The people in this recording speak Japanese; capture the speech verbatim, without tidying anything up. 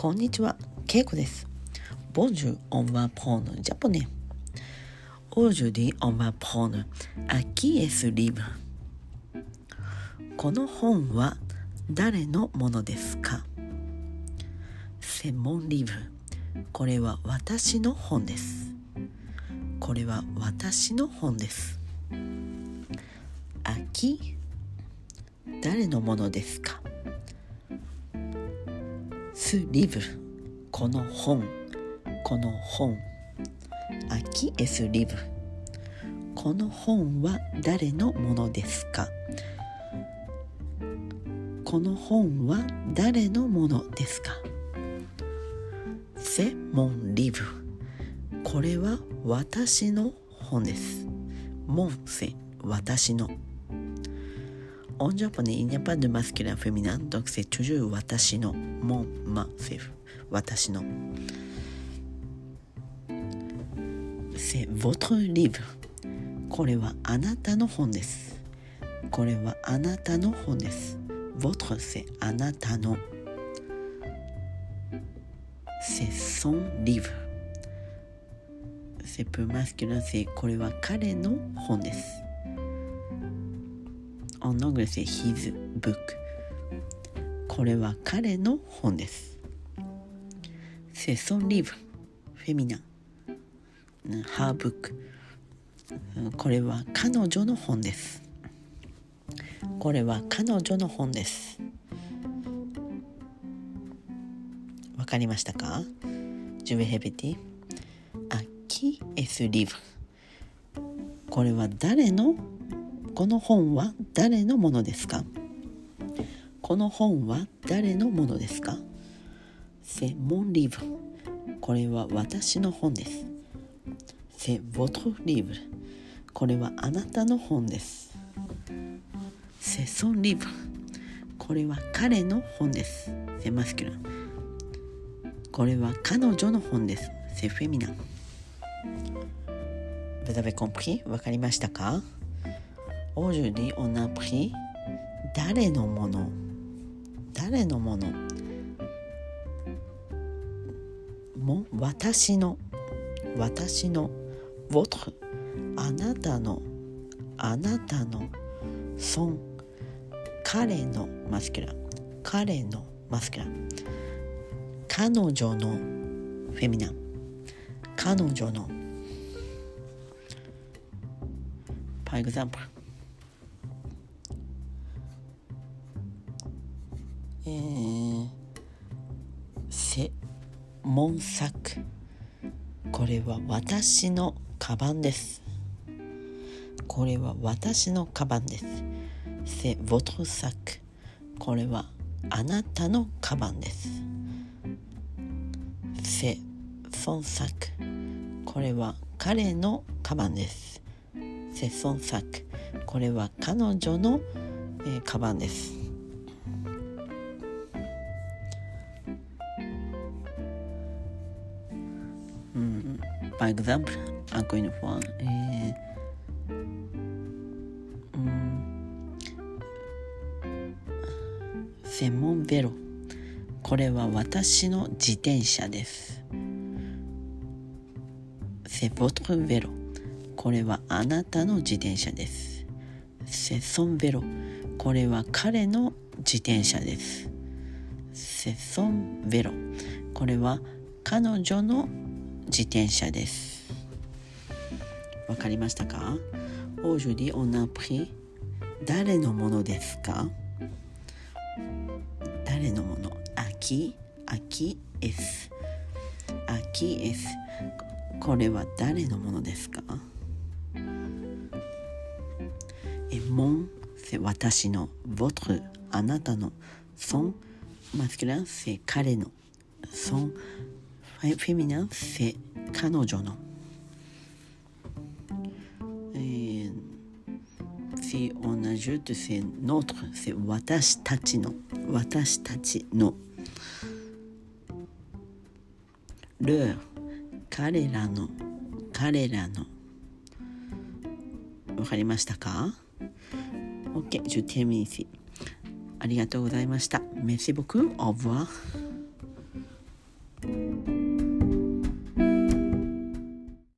こんにちは、ケイコです。Bonjour, on va prendre japonais. Aujourd'hui, on va prendre à qui est ce livre? この本は誰のものですか？ C'est mon livre. これは私の本です。これは私の本です。À qui? 誰のものですか？Ce livre この本この本 À qui est ce livre この本は誰のものですかこの本は誰のものですか C'est mon livre これは私の本です Mon c'est 私のEn japonais, il n'y a pas de masculin féminin, donc c'est toujours watashi no. Mon, ma, c'est watashi no. C'est votre livre. これはあなたの本です。これはあなたの本です。Votre, c'est あなたの。C'est son livre. C'est peu masculin, c'est これは彼の本です。En anglais, c'est his book. これは彼の本です。C'est son livre. féminin. Her book. これは彼女の本です。これは彼女の本です。わかりましたか？ Je vais répéter. À qui est ce livre? これは誰のこの本は誰のものですか？この本は誰のものですか？ C'est mon livre. これは私の本です。C'est votre livre. これはあなたの本です。C'est son livre. これは彼の本です。C'est masculin. これは彼女の本です。C'est féminin. Vous avez compris? わかりましたか？Aujourd'hui, on a pris 誰のもの誰のものも私の私の votre あなたのあなたの son 彼のマスキュラン彼のマスキュラン彼女のフェミナン彼女の Par exempleえー、c'est mon sac これは私のカバンですこれは私のカバンです c'est votre sac これはあなたのカバンです c'est son sac これは彼のカバンです c'est son sac これは彼女の、えー、カバンですPar exemple, encore une fois, eh, mm, c'est mon vélo. これは私の自転車です。C'est votre vélo. これはあなたの自転車です。C'est son vélo. これは彼の自転車です。C'est son vélo. これは彼女の自転車です。わかりましたか？ Aujourd'hui, on a pris 誰のものですか？誰のもの À qui? À qui est-ce? À qui est-ce? これは誰のものですか？Et mon, c'est 私の votre, あなたの son, masculin, c'est 彼の son féminin, c'est 彼女の、えー、si on ajoute c'est notre, c'est 私たちの私たちの leur 彼らの彼らのわかりましたか？ OK, je termine ici. ありがとうございました。Merci beaucoup. Au revoir.